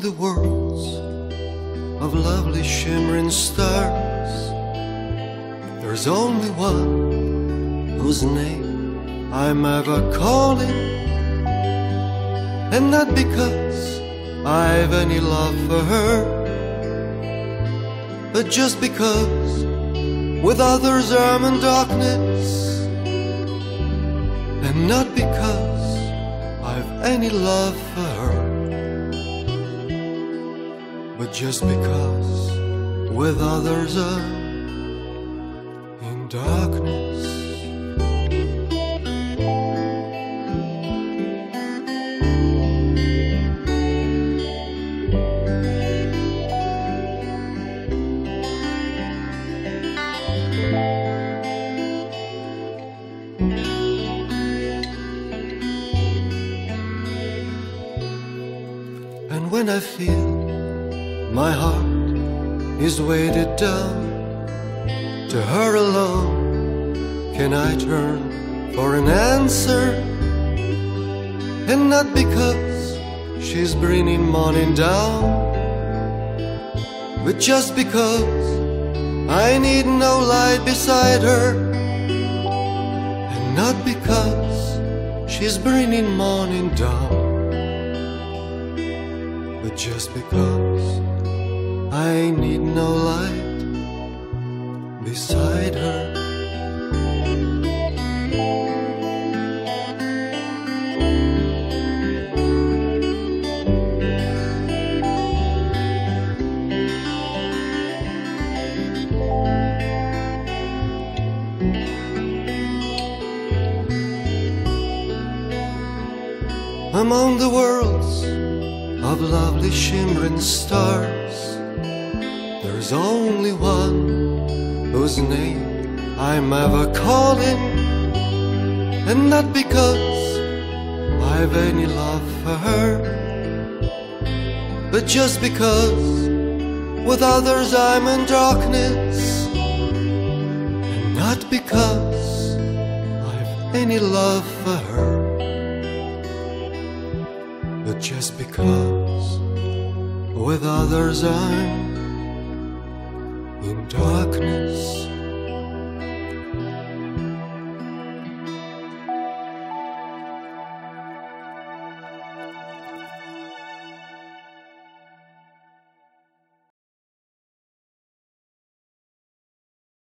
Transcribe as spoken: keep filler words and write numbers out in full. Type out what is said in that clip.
the worlds of lovely shimmering stars, there's only one whose name I'm ever calling. And not because I've any love for her, but just because with others I'm in darkness. And not because I've any love for her, but just because with others I'm in darkness. And when I feel my heart is weighted down, to her alone can I turn for an answer. And not because she's bringing morning down, but just because I need no light beside her. And not because she's bringing morning down, but just because I need no light beside her. Among the worlds of lovely shimmering stars, there's only one whose name I'm ever calling. And not because I've any love for her, but just because with others I'm in darkness. And not because I've any love for her, but just because with others I'm in darkness.